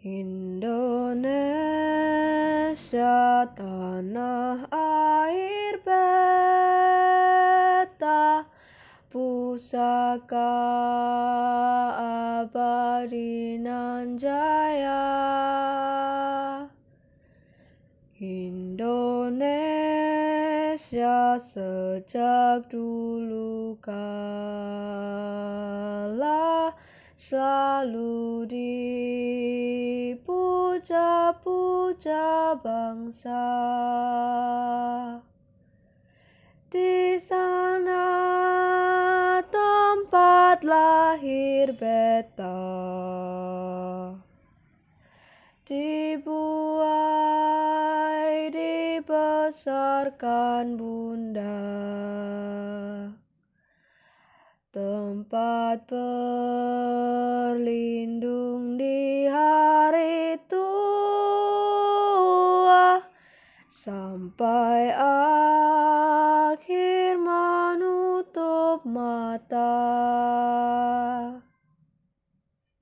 Indonesia tanah air beta, pusaka abadi nan jaya. Indonesia sejak dulu kala selalu dipuja-puja bangsa. Di sana tempat lahir beta, dibuai dibesarkan bunda, tempat berlindung di hari tua, sampai akhir menutup mata.